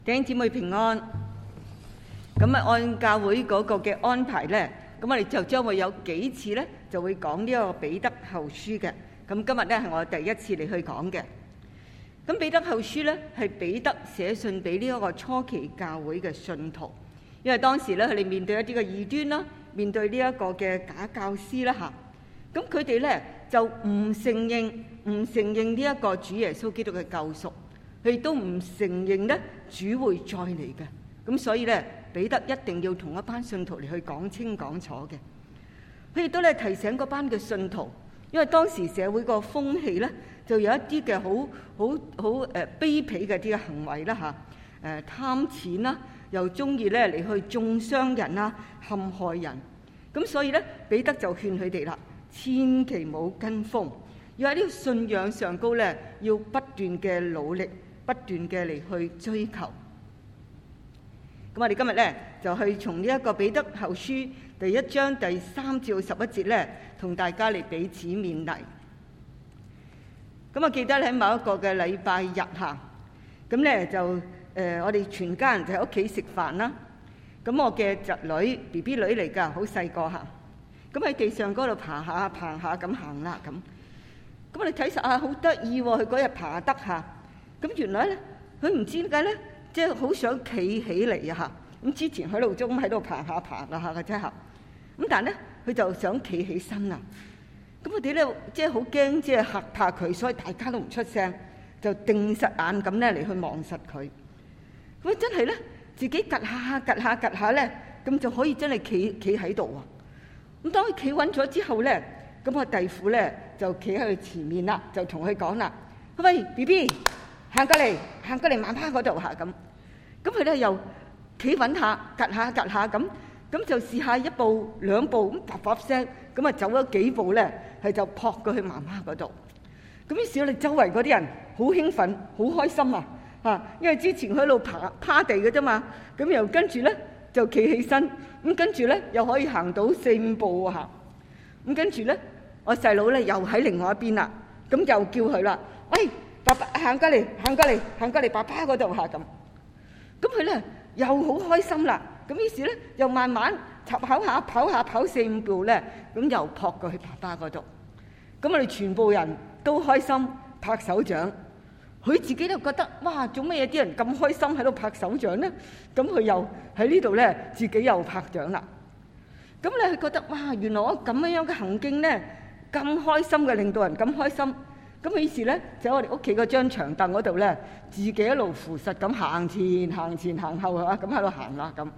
弟兄姊妹平安。咁按教會嗰個嘅安排呢，咁我哋就將會有幾次呢，就會講呢個彼得後書嘅。咁今日呢係我第一次嚟去講嘅。咁彼得後書呢係彼得寫信俾呢一個初期教會嘅信徒，因為當時呢佢哋面對一啲嘅異端啦，面對呢一個嘅假教師啦嚇。咁佢哋呢就唔承認呢一個主耶穌基督嘅救贖。佢哋都唔承認咧主會再嚟嘅，咁所以咧彼得一定要同一班信徒嚟去講清講楚嘅。佢亦都咧提醒嗰班嘅信徒，因為當時社會個風氣咧就有一啲嘅好卑鄙嘅啲嘅行為啦嚇，貪錢啦，又中意咧嚟去中傷人啦、陷害人。咁所以咧彼得就勸佢哋啦，千祈唔好跟風，要喺呢個信仰上高咧要不斷嘅努力。不斷嘅嚟去追求。咁我哋今日咧就去從呢一個彼得後書第1章第3至11節咧，同大家嚟彼此勉勵。咁我記得喺某一個嘅禮拜日嚇，咁咧就我哋全家人就喺屋企食飯啦。咁我嘅侄女 BB 女嚟㗎，好細個嚇。咁喺地上嗰度爬下咁行啦咁。咁我哋睇實啊，好得意喎！佢嗰日爬得嚇。咁原來咧，佢唔知點解咧，即係好想企起嚟啊嚇！咁之前喺路中喺度爬啦嚇嘅啫嚇。咁但係咧，佢就想企起身啦。咁我哋咧即係好驚，即係嚇怕佢，所以大家都唔出聲，就定實眼咁咧嚟去望實佢。咁真係咧，自己趌下咧，咁就可以真係企喺度喎。咁當佢企穩咗之後咧，咁我弟婦咧就企喺佢前面啦，就同佢講啦：喂 BB。行過嚟媽媽嗰度嚇咁，咁佢咧又企穩下，趌下咁就試下一步兩步咁啪聲，咁啊走咗幾步咧，係就撲過去媽媽嗰度。咁於是我哋周圍嗰啲人好興奮，好開心啊嚇，因為之前佢喺度趴地嘅啫嘛，咁又跟住咧就企起身，咁跟住咧又可以行到4-5步嚇，咁跟住咧我細佬咧又喺另外一邊啦，咁又叫佢啦，喂！爸爸行過嚟爸爸嗰度嚇咁，咁佢咧又好開心啦。咁於是咧又慢慢跑4-5步咧，咁又撲過去爸爸嗰度。咁我哋全部人都開心拍手掌。佢自己都覺得哇，做乜嘢啲人咁開心喺度拍手掌咧？咁佢又喺呢度咧，自己又拍掌啦。咁咧佢覺得哇，原來我咁樣嘅行徑咧咁開心嘅，令到人咁開心。咁於是咧，就喺我哋屋企嗰張長凳嗰度咧，自己一路扶實咁行前行後啊，咁喺度行啦咁。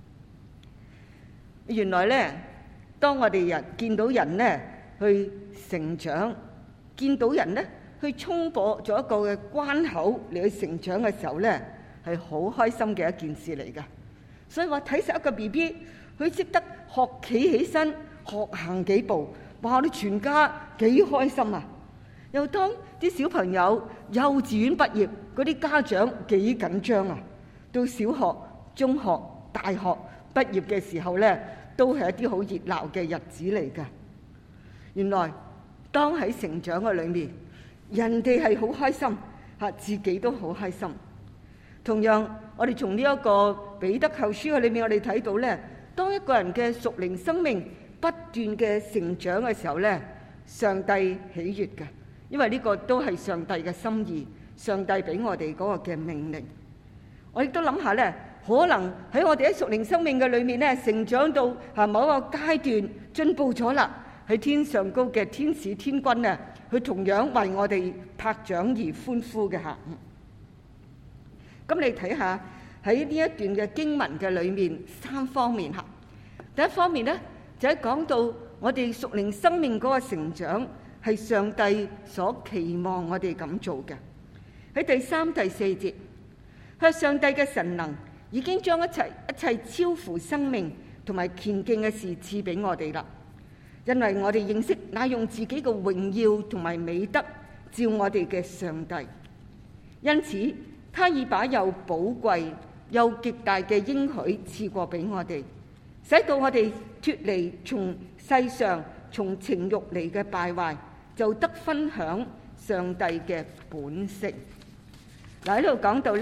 原來咧，當我哋見到人咧去成長，見到人咧去衝破咗一個嘅關口嚟去成長嘅時候咧，係好開心嘅一件事嚟㗎。所以話睇實一個 BB， 佢識得學企起身，學行幾步，哇！我哋全家幾開心啊！又當啲小朋友幼稚園畢業，嗰啲家長幾緊張啊！到小學、中學、大學畢業嘅時候咧，都係一啲好熱鬧嘅日子嚟㗎。原來當喺成長嘅裏面，人哋係好開心嚇，自己都好開心。同樣，我哋從呢一個彼得後書嘅裏面，我哋睇到咧，當一個人嘅屬靈生命不斷嘅成長嘅時候咧，上帝喜悅㗎。因為呢個都係上帝嘅心意，上帝俾我哋嗰個嘅命令。我亦都諗下咧，可能喺我哋喺屬靈生命嘅裏面咧，成長到某一個階段進步咗啦，喺天上高嘅天使天軍啊，佢同樣為我哋拍掌而歡呼嘅嚇。咁你睇下喺呢一段嘅經文嘅裏面3方面嚇。第一方面咧，就係講到我哋屬靈生命嗰個成長。係上帝所期望我哋咁做嘅。喺第3、第4節，係上帝嘅神能已經將一切超乎生命同埋虔敬嘅事賜俾我哋啦。因為我哋認識那用自己嘅榮耀同埋美德照我哋嘅上帝，因此他已把又寶貴又極大嘅應許賜過俾我哋，使到我哋脫離從世上從情慾嚟嘅敗壞，就得分享上帝嘅本性。嗱，喺度講到咧，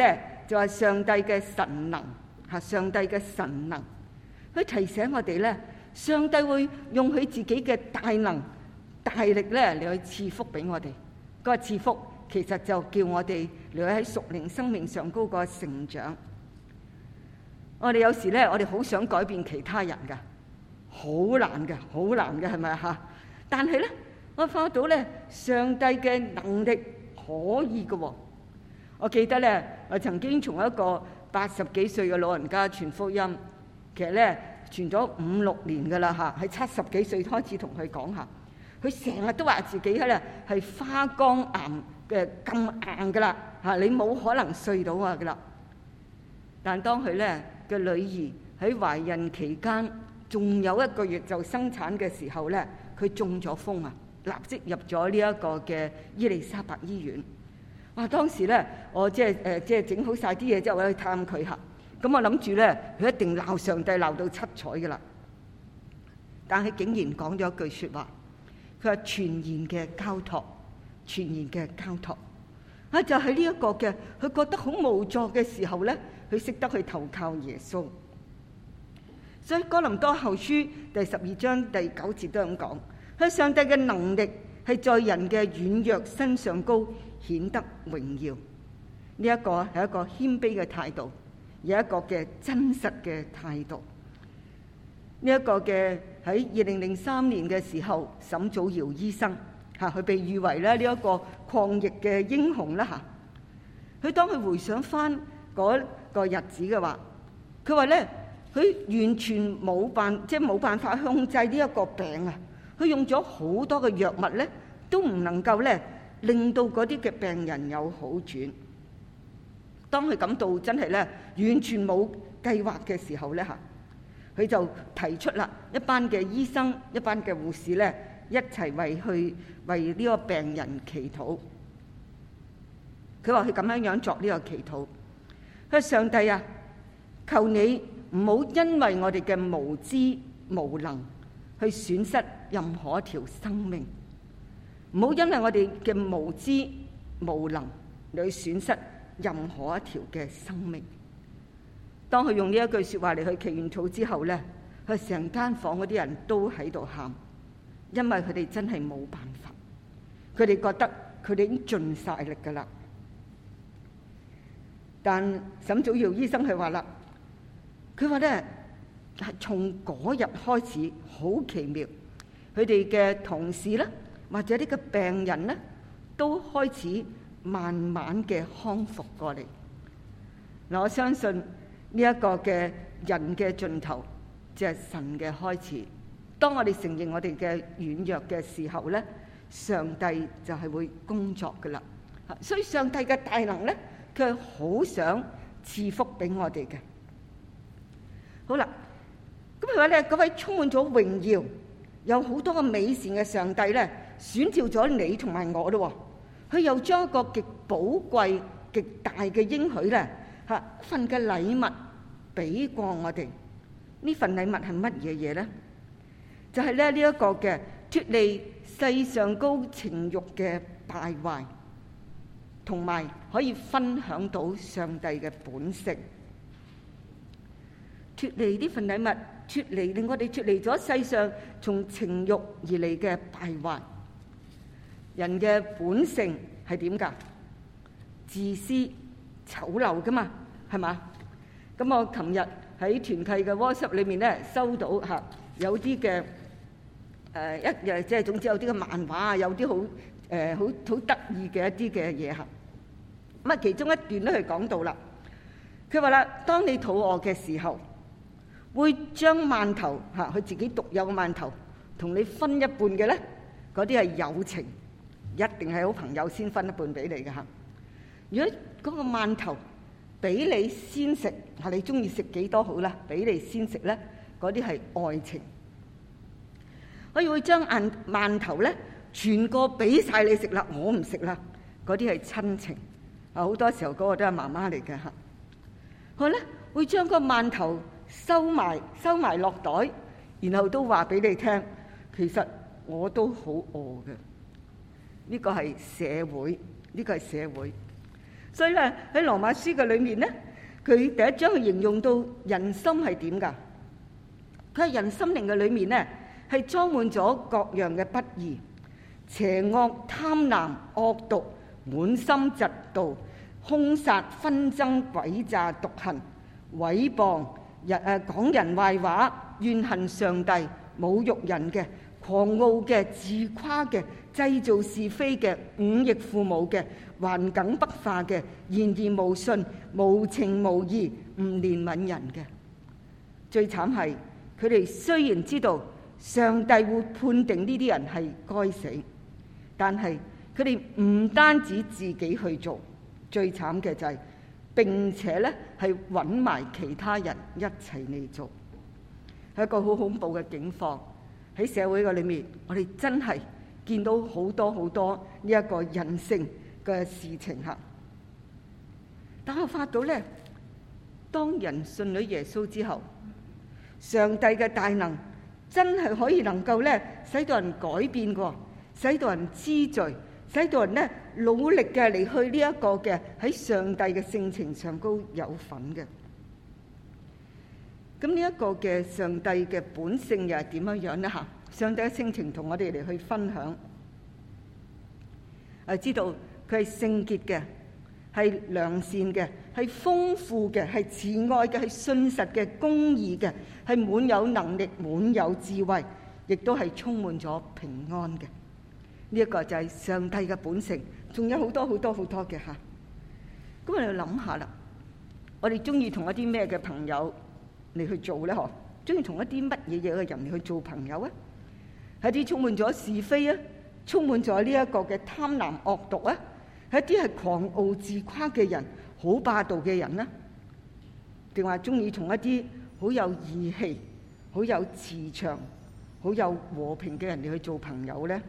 就係上帝嘅神能，上帝嘅神能，佢提醒我哋咧，上帝會用佢自己嘅大能、大力咧嚟去賜福俾我哋。嗰個賜福其實就叫我哋嚟喺屬靈生命上高個成長。我哋有時咧，我哋好想改變其他人噶，好難嘅，好難嘅，係咪啊？但係咧，我發覺到咧，上帝嘅能力可以嘅。我記得咧，我曾經從一個80幾歲嘅老人家傳福音，其實咧傳咗5、6年噶啦嚇，喺70幾歲開始同佢講下，佢成日都話自己咧係花崗岩嘅咁硬噶啦嚇，你冇可能碎到我噶啦。但當佢咧嘅女兒喺懷孕期間，仲有1個月就生產嘅時候咧，佢中咗風啊，立即入咗呢一個嘅伊利沙伯醫院。哇！當時咧，我即係整好晒啲嘢之後，我去探佢下。咁我諗住咧，佢一定鬧上帝鬧到七彩噶啦。但係竟然講咗一句説話，佢話全然嘅交託，全然嘅交託。啊，就喺呢一個嘅，佢覺得好無助嘅時候咧，佢識得去投靠耶穌。所以哥林多後書第12章第9節都咁講，佢上帝嘅能力係在人嘅軟弱身上高顯得榮耀。呢一個係一個謙卑嘅態度，有一個嘅真實嘅態度。呢一個嘅喺2003年嘅時候，沈祖堯醫生佢被譽為咧呢一個抗疫嘅英雄啦嚇。佢當佢回想翻嗰個日子嘅話，佢話咧佢完全冇辦法控制呢一個病啊！佢用咗好多嘅藥物咧，都唔能夠咧令到嗰啲嘅病人有好轉。當佢感到真係咧完全冇計劃嘅時候咧嚇，佢就提出啦，一班嘅醫生、一班嘅護士咧一齊為呢個病人祈禱。佢話佢咁樣作呢個祈禱，佢話上帝啊，求你唔好因為我哋嘅無知無能去損失任何一條生命，唔好因為我哋嘅無知無能嚟去損失任何一條嘅生命。當佢用呢一句説話嚟去祈完禱之後咧，佢成間房嗰啲人都喺度喊，因為佢哋真係冇辦法，佢哋覺得佢哋已經盡晒力㗎啦。但沈祖堯醫生佢話啦，佢話咧係從嗰日開始好奇妙，佢哋嘅同事咧或者呢個病人咧都開始慢慢嘅康復過嚟。嗱，我相信呢一個嘅人嘅盡頭就係神嘅開始。當我哋承認我哋嘅軟弱嘅時候咧，上帝就係會工作噶啦。所以上帝嘅大能咧，佢係好想賜福俾我哋嘅。好啦，咁佢話咧，嗰位充滿咗榮耀、有好多個美善嘅上帝咧，選召咗你同埋我咯。佢又將一個極寶貴、極大嘅應許咧，一份嘅禮物俾過我哋。呢份禮物係乜嘢嘢咧？就係咧呢一個嘅脫離世上高情慾嘅敗壞，同埋可以分享到上帝嘅本性。脫離呢份禮物，令我哋脫離咗世上從情慾而嚟嘅敗壞。人嘅本性係點㗎？自私、醜陋㗎嘛，係嘛？咁我琴日喺團契嘅 WhatsApp 裏面咧，收到有啲嘅即係總之有啲嘅漫畫啊，有啲好得意嘅一啲嘅嘢嚇。咁啊，其中一段咧佢講到啦，佢話啦，當你肚餓嘅時候，會將饅頭佢自己獨有嘅饅頭同你分一半嘅咧，嗰啲係友情，一定係好朋友先分一半俾你嘅嚇。如果嗰個饅頭俾你先食，你中意食幾多好啦，俾你先食咧，嗰啲係愛情。我會將饅頭咧全個俾晒你食啦，我唔食啦，嗰啲係親情。好多時候嗰個都係媽媽嚟嘅嚇。佢咧會將個饅頭收埋落袋，然後都話俾你聽，其實我都好餓嘅。呢個係社會，呢個係社會。 所以咧喺羅馬書嘅裏面咧，佢第一章去形容到人心係點㗎？佢係人心靈嘅裏面咧係裝滿咗各樣嘅不義、邪惡、貪婪、惡毒、滿心嫉妒、兇殺、紛爭、詭詐、毒恨、毀謗、講人壞話、怨恨上帝、侮辱人嘅、狂傲嘅、自誇嘅、製造是非嘅、忤逆父母嘅、頑梗不化嘅、言而無信、無情無義、唔憐憫人嘅。最慘係佢哋雖然知道上帝會判定呢啲人係該死，但係佢哋唔單止自己去做，最慘嘅就係並且咧係揾埋其他人一齊嚟做，係一個好恐怖嘅境況。喺社會嘅裏面，我哋真係見到好多好多呢一個人性嘅事情嚇。但我發到咧，當人信咗耶穌之後，上帝嘅大能真係可以能夠咧使到人改變過，使到人知罪，使到人咧努力嘅嚟去呢一個嘅喺上帝嘅性情上高有份嘅。咁呢一個嘅上帝嘅本性又係點樣樣咧嚇？上帝嘅性情同我哋嚟去分享，知道佢係聖潔嘅，係良善嘅，係豐富嘅，係慈愛嘅，係信實嘅，公義嘅，係滿有能力、滿有智慧，亦都係充滿咗平安嘅。呢一個就係上帝嘅本性，仲有好多好多好多嘅嚇。咁我哋諗下啦，我哋中意同一啲咩嘅朋友嚟去做咧？嗬，中意同一啲乜嘢嘢嘅人嚟去做朋友啊？係啲充滿咗是非啊，充滿咗呢一個嘅貪婪惡毒啊，係一啲係狂傲自誇嘅人，好霸道嘅人啊？定話中意同一啲好有義氣、好有慈祥、好有和平嘅人嚟去做朋友咧？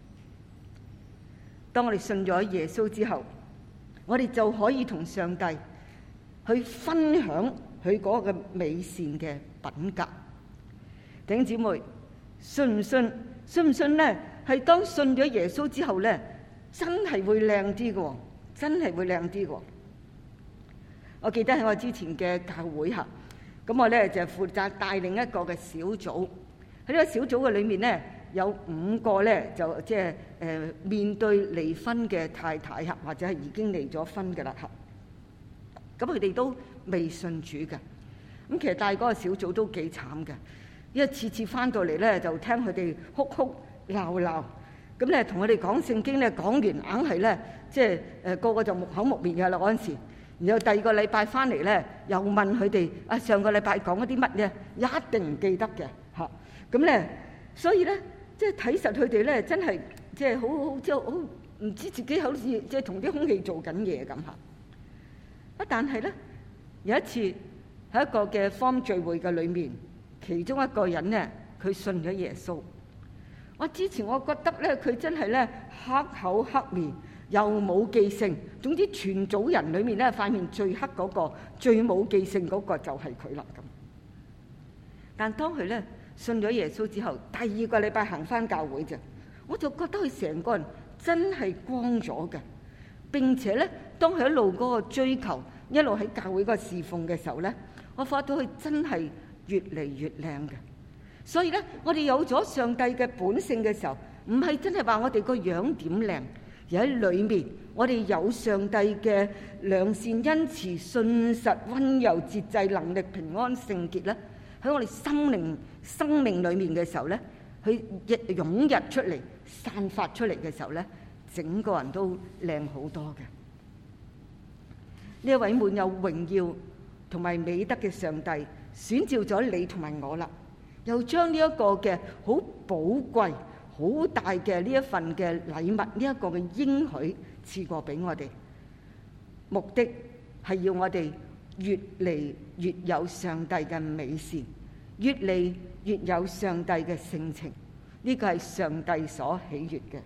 當我哋信咗耶穌之後，我哋就可以同上帝去分享佢嗰個美善嘅品格。弟兄姊妹，信唔信？信唔信咧？係當信咗耶穌之後咧，真係會靚啲嘅，真係會靚啲嘅。我記得喺我之前嘅教會下，咁我咧就負責帶領一個嘅小組。喺呢個小組嘅裏面咧，有5個咧就即係面對離婚嘅太太嚇，或者係已經離咗婚嘅啦嚇。咁佢哋都未信主嘅。咁其實帶嗰個小組都幾慘嘅，因為次次翻到嚟咧就聽佢哋哭哭鬧鬧，咁咧同佢哋講聖經咧講完硬係咧即係個個就木口木面嘅啦嗰陣時。然後第2個禮拜翻嚟咧又問佢哋啊，上個禮拜講嗰啲乜嘢，一定唔記得嘅嚇。咁咧所以咧即係睇實佢哋咧真係即係好即係好唔知自己好似即係同啲空氣做緊嘢咁嚇。但係咧有一次喺一個嘅方聚會嘅裏面，其中一個人咧佢信咗耶穌。之前我覺得咧佢真係咧黑口黑面，又冇記性，總之全組人裏面咧塊面最黑嗰個、最冇記性嗰個就係佢啦咁。但當佢咧信咗耶穌之後，第2個禮拜行翻教會啫，我就覺得佢成個人真係光咗嘅。並且咧，當佢一路嗰個追求，一路喺教會嗰個侍奉嘅時候咧，我發覺佢真係越嚟越靚嘅。所以咧，我哋有咗上帝嘅本性嘅時候，唔係真係話我哋個樣點靚，而喺裏面我哋有上帝嘅良善、恩慈、信實、溫柔、節制、能力、平安、聖潔咧，喺我哋生命裏面嘅時候咧，佢湧入出嚟、散發出嚟嘅時候咧，整個人都靚好多嘅。呢一位滿有榮耀同埋美德嘅上帝選召咗你同埋我啦，又將呢一個嘅好寶貴、好大嘅呢一份嘅禮物，呢一個嘅應許賜過俾我哋，目的係要我哋越嚟越有上帝嘅美善，越嚟越有上帝嘅性情。呢個係上帝所喜悅嘅。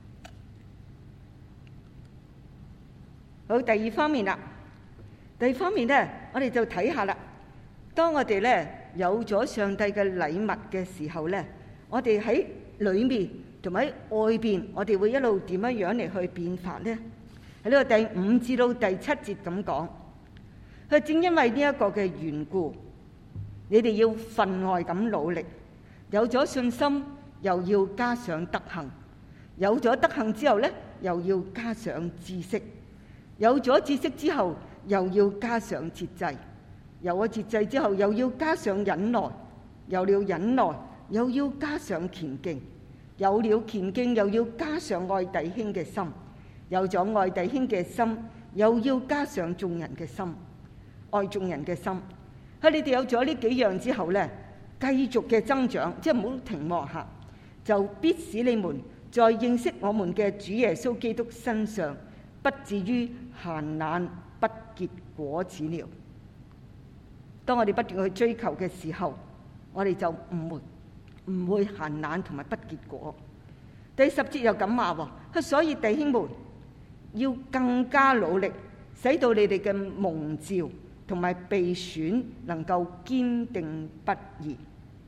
好，第2方面啦。第2方面咧，我哋就睇下啦。當我哋咧有咗上帝嘅禮物嘅時候咧，我哋喺裏面同埋喺外邊，我哋會一路點樣樣嚟去變化咧？ 喺呢個第5至到第7節咁講，佢正因為呢一個嘅緣故，你哋要分外咁努力，有咗信心，又要加上德行；有咗德行之後呢，又要加上知識；有咗知識之後，又要加上節制；有咗節制之後，又要加上忍耐；有了忍耐，又要加上虔敬；有了虔敬，又要加上愛弟兄嘅心；有咗愛弟兄嘅心，又要加上眾人嘅心，愛眾人嘅心。喺你哋有咗呢幾樣之後呢，繼續嘅增長，即係唔好停落下，就必使你們在認識我們嘅主耶穌基督身上，不至於閒懶不結果子了。當我哋不斷去追求嘅時候，我哋就唔會閒懶同埋不結果。第10節又咁話喎，所以弟兄們要更加努力，使到你哋嘅蒙召同埋被選能夠堅定不移。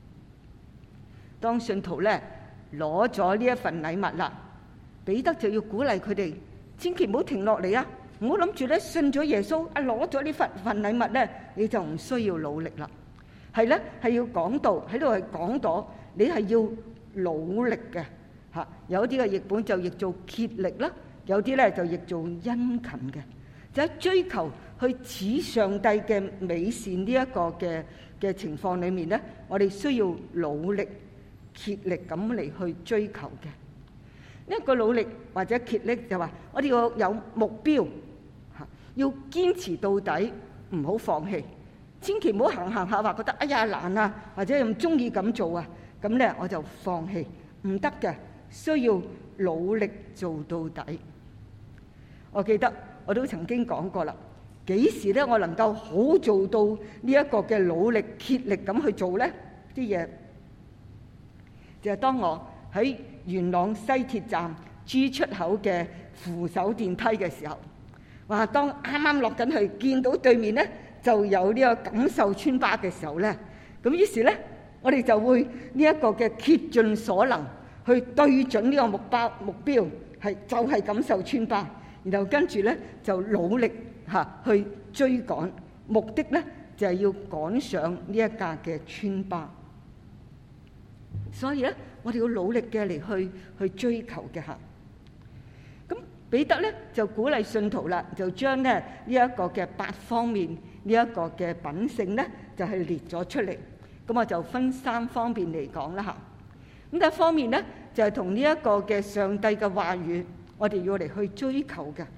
當信徒咧攞咗呢一份禮物啦，彼得就要鼓勵佢哋，千祈唔好停落嚟啊！唔好諗住咧信咗耶穌啊，攞咗呢份禮物咧，你就唔需要努力啦。係咧，係要講道喺度係講到，你係要努力嘅嚇。有啲嘅譯本就譯做竭力啦，有啲咧就譯做殷勤嘅，就喺追求去似上帝嘅美善呢一個嘅情況裏面咧，我哋需要努力竭力咁嚟去追求嘅。呢一個努力或者竭力就話，我哋要有目標嚇，要堅持到底，唔好放棄。千祈唔好行下話覺得哎呀難啊，或者唔中意咁做啊，咁咧我就放棄，唔得嘅，需要努力做到底。我記得我都曾經講過啦，幾時咧我能夠好做到呢一個嘅努力竭力咁去做咧啲嘢，就係當我喺元朗西鐵站 G 出口嘅扶手電梯嘅時候，哇！當啱啱落緊去見到對面咧就有呢個錦繡村巴嘅時候咧，咁於是咧我哋就會呢一個嘅竭盡所能去對準呢個目標，係就係錦繡村巴，然後跟住咧就努力去追趕，目的咧就係要趕上呢一架嘅村巴。所以咧我哋要努力嘅嚟去追求嘅嚇。咁彼得咧就鼓勵信徒啦，就將咧呢一個嘅8方面呢一個嘅品性咧就係列咗出嚟。咁我就分3方面嚟講啦嚇。咁第一方面咧就係同呢一個嘅上帝嘅話語，我哋要嚟去追求嘅。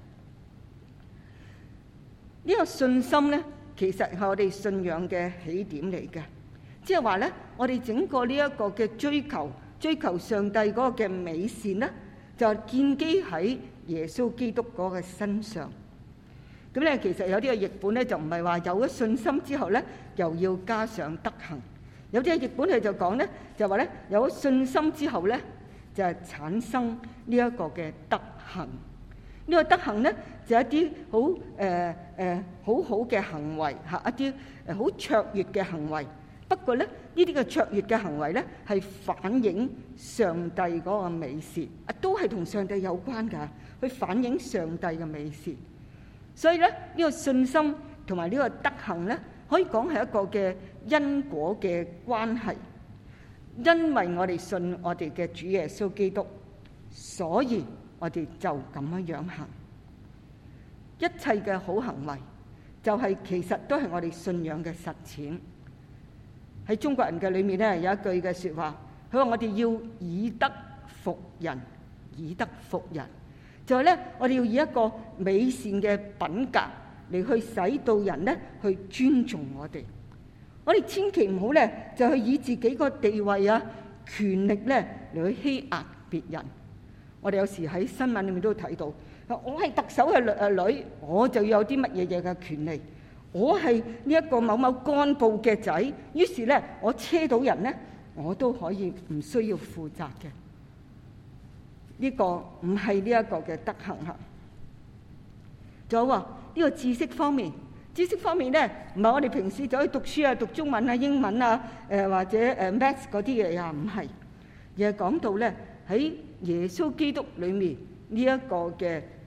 呢個信心咧，其實係我哋信仰嘅起點嚟嘅。即係話咧，我哋整個呢一個嘅追求上帝嗰個嘅美善咧，就係建基喺耶穌基督嗰個身上。咁咧，其實有啲嘅譯本咧就唔係話有咗信心之後咧，又要加上德行。有啲嘅譯本佢就講咧，就話咧有咗信心之後咧，就係產生呢一個嘅德行。呢個德行咧就係一啲好好嘅行為嚇，一啲好卓越嘅行為。不過咧，呢啲嘅卓越嘅行為咧，係反映上帝嗰個美善，都係同上帝有關㗎，去反映上帝嘅美善。所以咧，呢個信心同埋呢個德行咧，可以講係一個嘅因果嘅關係。因為我哋信我哋嘅主耶穌基督，所以我哋就咁樣行。一切嘅好行為，就係其實都係我哋信仰嘅實踐。喺中國人嘅裏面咧，有一句嘅説話，佢話我哋要以德服人，以德服人，就係咧我哋要以一個美善嘅品格嚟去使到人咧去尊重我哋。我哋千祈唔好咧就去以自己個地位啊、權力咧嚟去欺壓別人。我哋有時喺新聞裏面都睇到，我係特首嘅女，我就要有啲乜嘢嘢嘅權利。我係呢一個某某幹部嘅仔，於是咧我車到人咧，我都可以唔需要負責嘅。呢個唔係呢一個嘅德行嚇。仲有話呢個知識方面，知識方面咧唔係我哋平時走去讀書啊、讀中文啊、英文啊、或者maths 嗰啲嘢啊，唔係，而係講到咧喺耶穌基督裏面呢一個嘅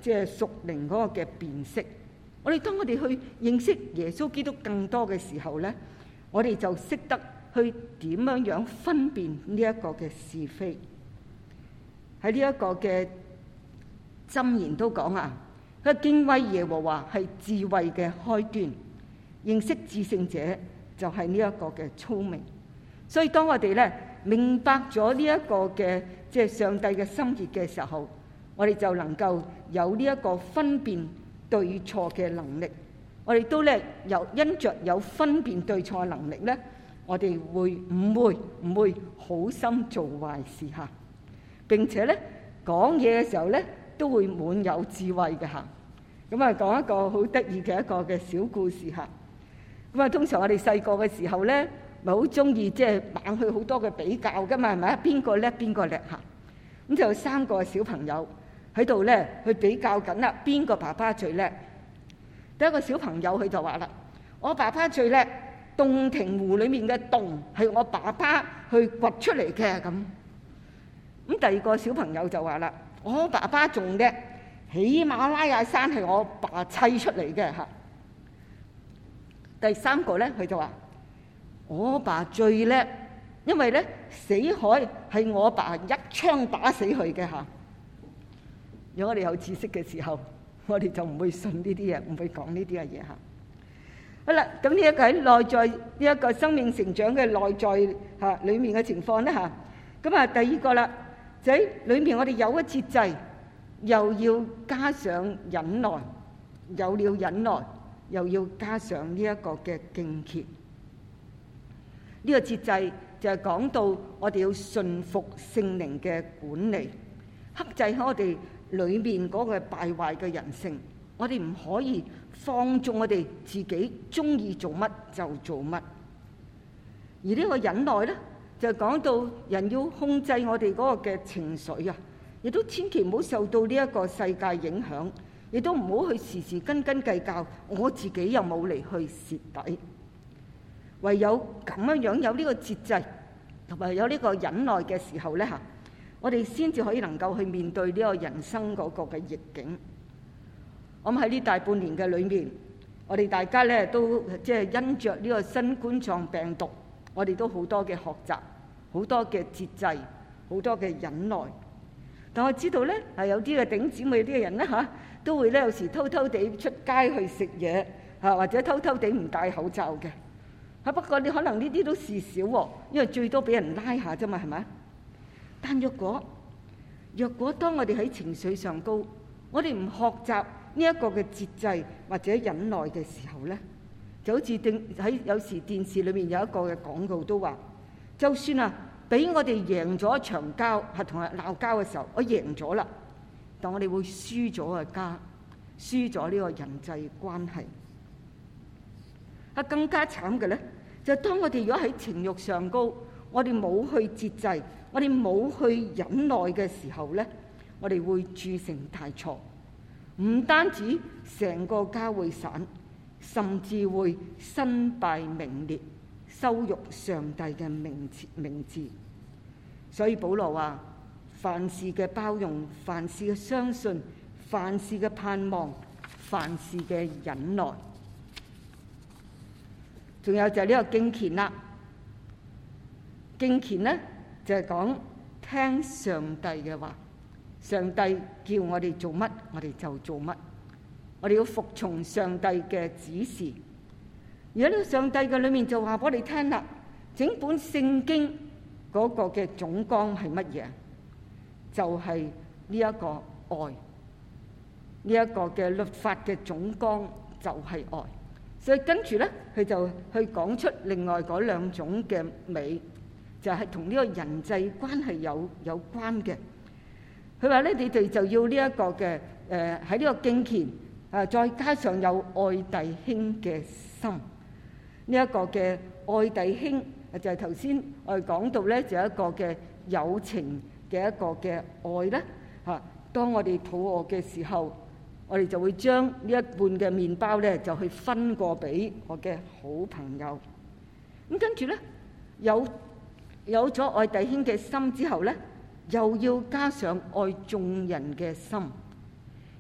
即係屬靈嗰個嘅辨識。我哋當我哋去認識耶穌基督更多嘅時候咧，我哋就識得去點樣分辨呢一個嘅是非。喺呢一個嘅箴言都講啊，佢敬畏耶和華係智慧嘅開端，認識至聖者就係呢一個嘅聰明。所以當我哋咧明白咗呢一個嘅即係上帝嘅心意嘅時候，我哋就能夠有呢一個分辨對錯嘅能力。我哋都咧因着有分辨對錯嘅能力咧，我哋唔會好心做壞事嚇。並且咧講嘢嘅時候咧都會滿有智慧嘅嚇。咁啊講一個好得意嘅一個嘅小故事嚇。咁啊通常我哋細個嘅時候咧，咪好中意即係猛去好多嘅比較噶嘛，係咪啊？邊個叻邊個叻嚇？咁就有3個小朋友喺度咧去比較緊啦，邊個爸爸最叻？第一個小朋友佢就話啦：我爸爸最叻，洞庭湖裡面嘅洞係我爸爸去掘出嚟嘅咁。咁第二個小朋友就話啦：我爸爸仲叻，喜馬拉雅山係我爸砌出嚟嘅嚇。第3個咧佢就話：我爸最叻，因為咧死海係我爸一槍打死佢嘅嚇。如果我哋有知識嘅時候，我哋就唔會信呢啲嘢，唔會講呢啲嘅嘢嚇。好啦，咁呢一個喺內在呢一個生命成長嘅內在嚇裡面嘅情況咧嚇。咁啊第二個啦，就喺裏面我哋有咗節制，又要加上忍耐，有了忍耐，又要加上呢一個嘅敬虔。呢個節制就係講到我哋要順服聖靈嘅管理，克制喺我哋裏面嗰個敗壞嘅人性。我哋唔可以放縱我哋自己中意做乜就做乜。而呢個忍耐咧，就講到人要控制我哋嗰個嘅情緒啊，亦都千祈唔好受到呢一個世界影響，亦都唔好去時時斤斤計較，我自己又冇嚟去蝕底。唯有咁樣有呢個節制同埋有呢個忍耐嘅時候咧嚇，我哋先至可以能夠去面對呢個人生嗰個嘅逆境。我諗喺呢大半年嘅裏面，我哋大家咧都即係因着呢個新冠狀病毒，我哋都好多嘅學習，好多嘅節制，好多嘅忍耐。但我知道咧係有啲嘅頂姊妹啲嘅人咧嚇，都會咧有時偷偷地出街去食嘢嚇，或者偷偷地唔戴口罩嘅。不過你可能呢啲都事少喎，因為最多俾人拉下啫嘛，係咪？但若果當我哋喺情緒上高，我哋唔學習呢一個嘅節制或者忍耐嘅時候咧，就好似喺有時電視裏面有一個嘅廣告都話，就算啊俾我哋贏咗一場交，係同人鬧交嘅時候，我贏咗啦，但我哋會輸咗個家，輸咗呢個人際關係。更加慘嘅咧，就當我哋如果喺情慾上高，我哋冇去節制，我哋冇去忍耐嘅時候咧，我哋會鑄成大錯，唔單止成個家會散，甚至會身敗名裂，羞辱上帝嘅名字。所以保羅話：凡事嘅包容，凡事嘅相信，凡事嘅盼望，凡事嘅忍耐。仲有就係呢個敬虔啦。敬虔咧就係講聽上帝嘅話，上帝叫我哋做乜，我哋就做乜。我哋要服從上帝嘅指示。而喺呢個上帝嘅裏面就話俾我哋聽啦，整本聖經嗰個嘅總綱係乜嘢？就係呢一個愛，呢一個嘅律法嘅總綱就係愛。所以跟住咧，佢就去講出另外嗰2種嘅美，就係同呢個人際關係有關嘅。佢話咧，你哋就要呢一個嘅喺呢個敬虔再加上有愛弟兄嘅心。呢一個嘅愛弟兄就係頭先我哋講到咧，就係一個嘅友情嘅一個嘅愛咧嚇。當我哋肚餓嘅時候，我哋就會將呢一半嘅麵包咧，就去分過俾我嘅好朋友。咁跟住咧，有咗愛弟兄嘅心之後咧，又要加上愛眾人嘅心。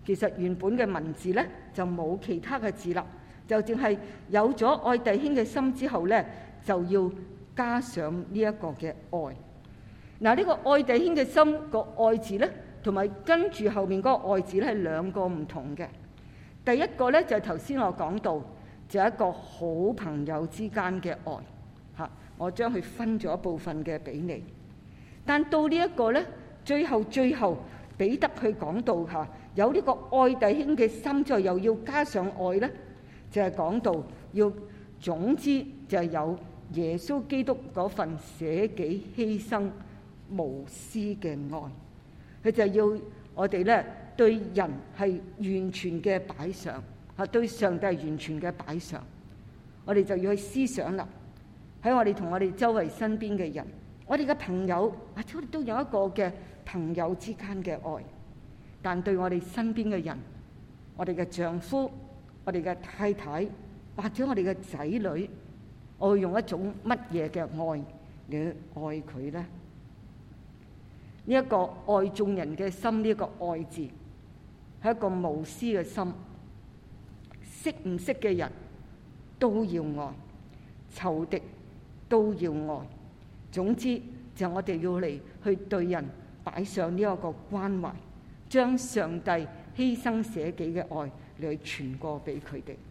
其實原本嘅文字呢，就冇其他嘅字啦，就淨係有咗愛弟兄嘅心之後呢，就要加上呢一個嘅愛。嗱，呢個愛弟兄嘅心個愛字呢，同埋跟住後面嗰個愛字呢，係兩個唔同嘅。第一個呢，就係頭先我講到，就係一個好朋友之間嘅愛嚇，我將佢分咗一部分嘅俾你。但到呢一個呢，最後彼得去講到嚇，有呢個愛弟兄嘅心，再又要加上愛呢，就係講到要總之就係有耶穌基督嗰份捨己犧牲無私嘅愛，佢就要我哋呢對人係完全嘅擺上嚇，對上帝係完全嘅擺上。我哋就要去思想啦，喺我哋同我哋周圍身邊嘅人，我哋嘅朋友，或者我哋都有一個嘅朋友之間嘅愛，但對我哋身邊嘅人，我哋嘅丈夫、我哋嘅太太，或者我哋嘅仔女，我會用一種乜嘢嘅愛嚟愛佢呢？呢一個愛眾人嘅心，呢一個愛字係一個無私嘅心，識唔識嘅人都要愛，仇敵都要愛。總之就我哋要嚟去對人擺上呢一個關懷，將上帝犧牲捨己嘅愛嚟去傳過俾佢哋。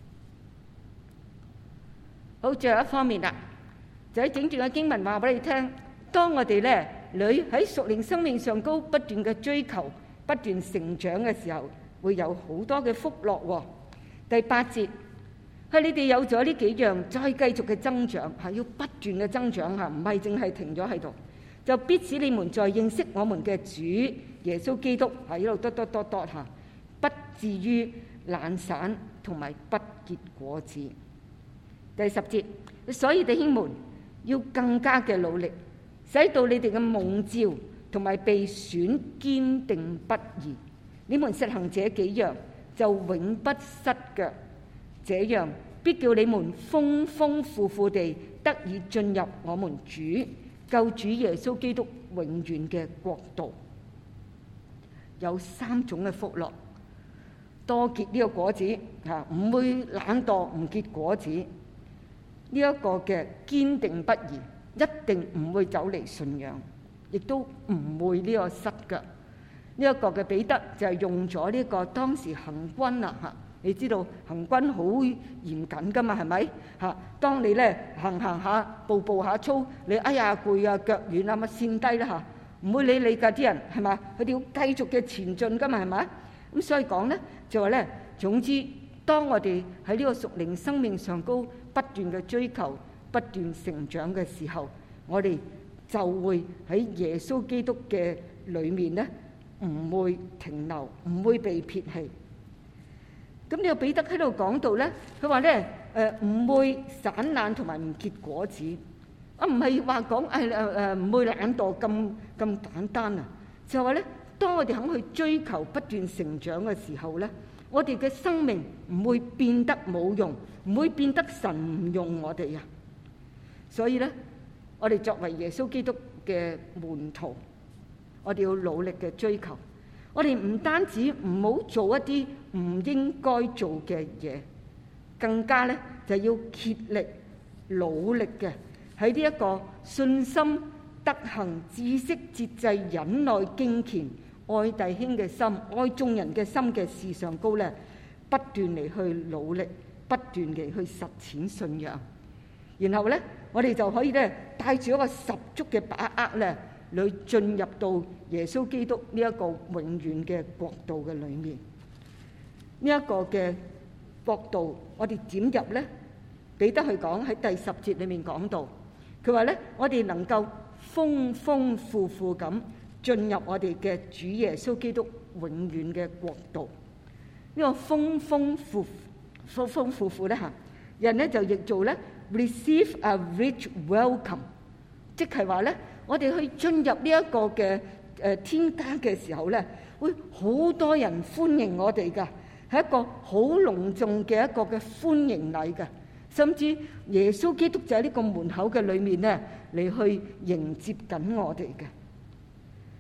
好，最後一方面啦，就喺整段嘅經文話俾你聽，當我哋咧喺屬靈生命上高不斷嘅追求、不斷成長嘅時候，會有好多嘅福樂喎。第8節係你哋有咗呢幾樣，再繼續嘅增長，係要不斷嘅增長嚇，唔係淨係停咗喺度，就必使你們在認識我們嘅主耶穌基督喺呢度嚇，不至於懶散同埋不結果子。第10節，所以弟兄們要更加嘅努力，使到你哋嘅蒙召同埋被選堅定不移。你們實行這幾樣，就永不失腳。這樣必叫你們豐豐富富地得以進入我們主救主耶穌基督永遠嘅國度。有3種嘅福樂，多結呢個果子嚇，唔會懶惰唔結果子。呢一個嘅堅定不移，一定唔會走離信仰，亦都唔會呢個失腳。呢一個嘅彼得就係用咗呢個當時行軍啦嚇，你知道行軍好嚴謹噶嘛，係咪嚇？當你咧行下步下操，你哎呀攰啊腳軟啊，咪跣低啦嚇，唔會理你㗎啲人係嘛？佢哋要繼續嘅前進㗎嘛，係咪？咁所以講咧就話咧，總之當我哋喺呢個屬靈生命上高不斷嘅追求、不斷成長嘅時候，我哋就會喺耶穌基督嘅裏面咧，唔會停留，唔會被撇棄。咁呢個彼得喺度講到咧，佢話咧唔會散懶同埋唔結果子，唔係話講唔會懶惰咁簡單啊，就話咧，當我哋肯去追求不斷成長嘅時候咧，我哋嘅生命唔會變得冇用，唔會變得神唔用我哋啊。所以咧，我哋作為耶穌基督嘅門徒，我哋要努力嘅追求。我哋唔單止唔好做一啲唔應該做嘅嘢，更加咧就要竭力努力嘅喺呢一個信心、德行、知識、節制、忍耐、敬虔、愛弟兄嘅心、愛眾人嘅心嘅事上高咧，不斷嚟去努力，不斷嚟去實踐信仰。然後咧，我哋就可以咧帶住一個十足嘅把握咧，嚟進入到耶穌基督呢一個永遠嘅國度嘅裏面。呢一個嘅國度，我哋點入咧？彼得去講喺第10節裏面講到，佢話咧，我哋能夠豐豐富富咁進入我哋嘅主耶穌基督永遠嘅國度。呢個豐豐富富咧嚇，人咧就譯做咧 receive a rich welcome， 即係話咧，我哋去進入呢一個嘅天家嘅時候咧，會好多人歡迎我哋㗎，係一個好隆重嘅一個嘅歡迎禮㗎。甚至耶穌基督就喺呢個門口嘅裏面咧，嚟去迎接緊我哋嘅。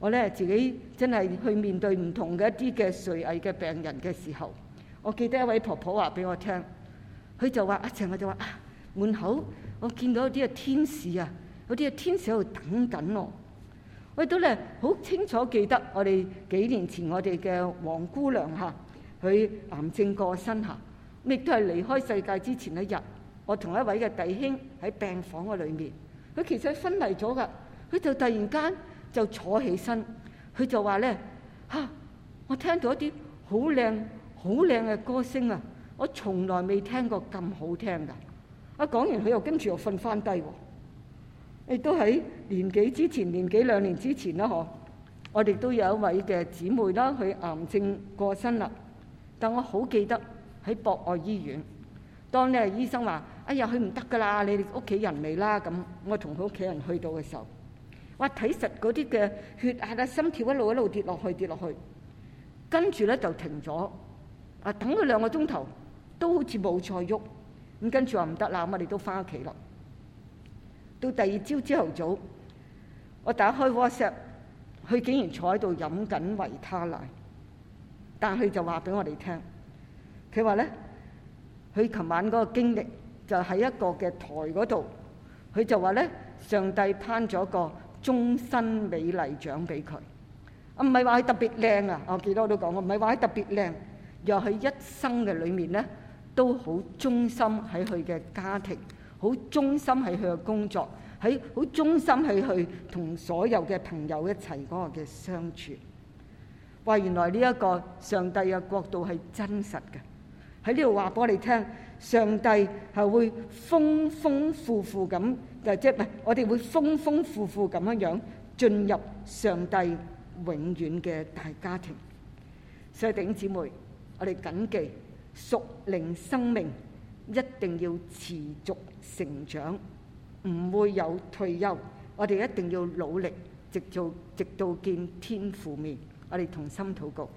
我咧自己真係去面對唔同嘅一啲嘅垂危嘅病人嘅時候，我記得一位婆婆話俾我聽，佢就話阿陳，我就話門口我見到有啲嘅天使啊，有啲嘅天使喺度等緊我。我都咧好清楚記得我哋幾年前我哋嘅黃姑娘嚇，佢癌症過身嚇，亦都係離開世界之前一日，我同一位嘅弟兄喺病房嘅裏面，佢其實昏迷咗噶，佢就突然間就坐起身，佢就話咧我聽到一啲好靚嘅歌聲啊，我從來未聽過咁好聽噶。講完佢又跟住又瞓翻低喎。亦都喺年幾兩年之前啦，我哋都有一位嘅姊妹啦，佢癌症過身啦。但我好記得喺博愛醫院，當咧醫生話：哎呀，佢唔得噶啦，你哋屋企人嚟啦。咁我同佢屋企人去到嘅時候，哇，睇實嗰啲嘅血壓啊、心跳一路跌落去，跟住咧就停咗。等佢2個鐘頭都好似冇再喐。咁跟住話唔得啦，咁我哋都翻屋企啦。到第二朝朝頭早，我打開 WhatsApp， 佢竟然坐喺度飲緊維他奶，但佢就話俾我哋聽，佢話咧，佢琴晚嗰個經歷就喺一個嘅台嗰度，佢就話咧，上帝頒咗個終身美麗獎俾佢，唔係話佢特別靚啊，我記得我都講過，唔係話佢特別靚，又喺一生嘅裏面咧，都好忠心喺佢嘅家庭。好忠心喺佢嘅工作，喺好忠心喺佢同所有嘅朋友一齊嗰個嘅相處。話原來呢一個上帝嘅國度係真實嘅，喺呢度話俾我哋聽，上帝係會豐豐富富咁，即係唔係我哋會豐豐富富咁樣進入上帝永遠嘅大家庭。所以弟兄姊妹，我哋謹記屬靈生命一定要持續成長，唔會有退休。我哋一定要努力，直到見天父面。我哋同心禱告。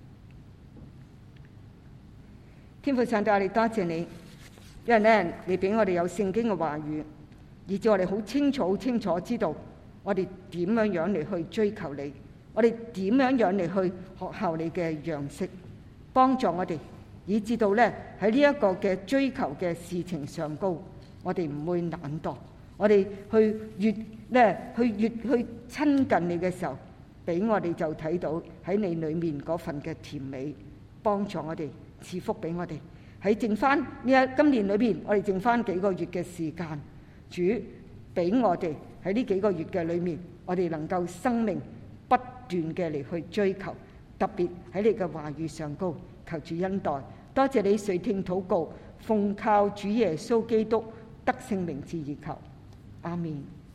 天父上帝，我哋多謝你，因為咧你俾我哋有聖經嘅話語，以致我哋好清楚知道我哋點樣嚟去追求你，我哋點樣嚟去學效你嘅樣式，幫助我哋。以至到咧喺呢一個嘅追求嘅事情上高，我哋唔會懶惰，我哋越去親近你嘅時候，俾我哋就睇到喺你裏面嗰份嘅甜美，幫助我哋賜福俾我哋。喺剩翻今年裏邊，我哋剩翻幾個月嘅時間，主俾我哋喺呢幾個月嘅裏面，我哋能夠生命不斷嘅嚟去追求，特別喺你嘅話語上高，求主恩待。多謝你垂聽禱告，奉靠主耶穌基督得勝名字而求，阿們。